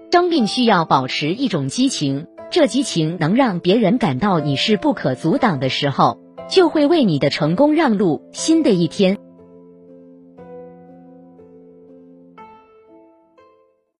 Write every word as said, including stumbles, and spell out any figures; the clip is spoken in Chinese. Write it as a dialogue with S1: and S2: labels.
S1: 生命需要保持一种激情，这激情能让别人感到你是不可阻挡的时候，就会为你的成功让路。新的一天，